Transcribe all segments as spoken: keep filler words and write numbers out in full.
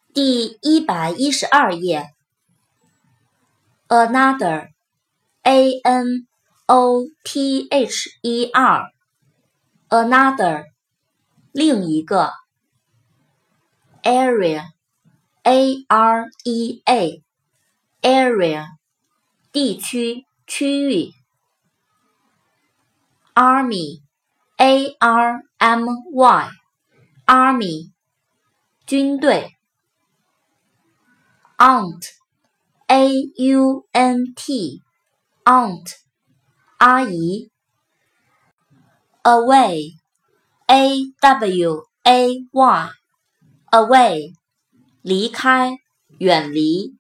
第一百一十二页 Another A N O T H E R Another 另一个 Area A R E A Area 地区区域 Army A R M Y Army 军队 Aunt A U N T Aunt 阿姨 Away A W A Y Away 离开远离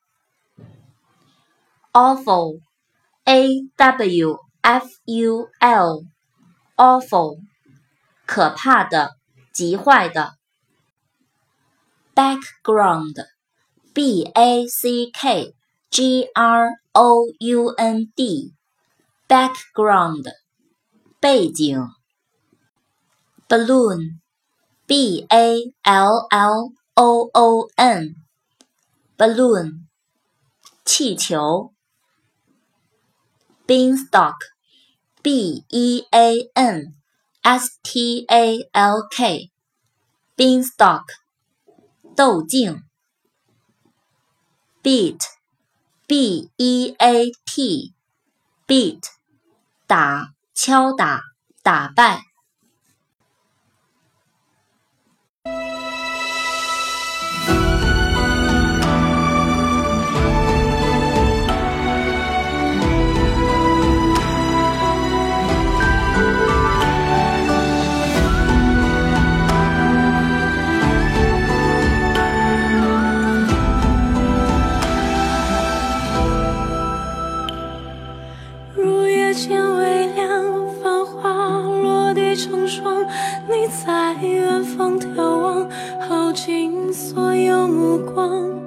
Awful A W F U L Awful 可怕的极坏的 Background B A C K G R O U N D Background 背景 Balloon B A L L O O N Balloon 气球 Beanstalk B E A N S T A L K Beanstalk 豆茎Beat B E A T Beat 打敲打打败见微凉，繁华落地成霜。你在远方眺望，耗尽所有目光。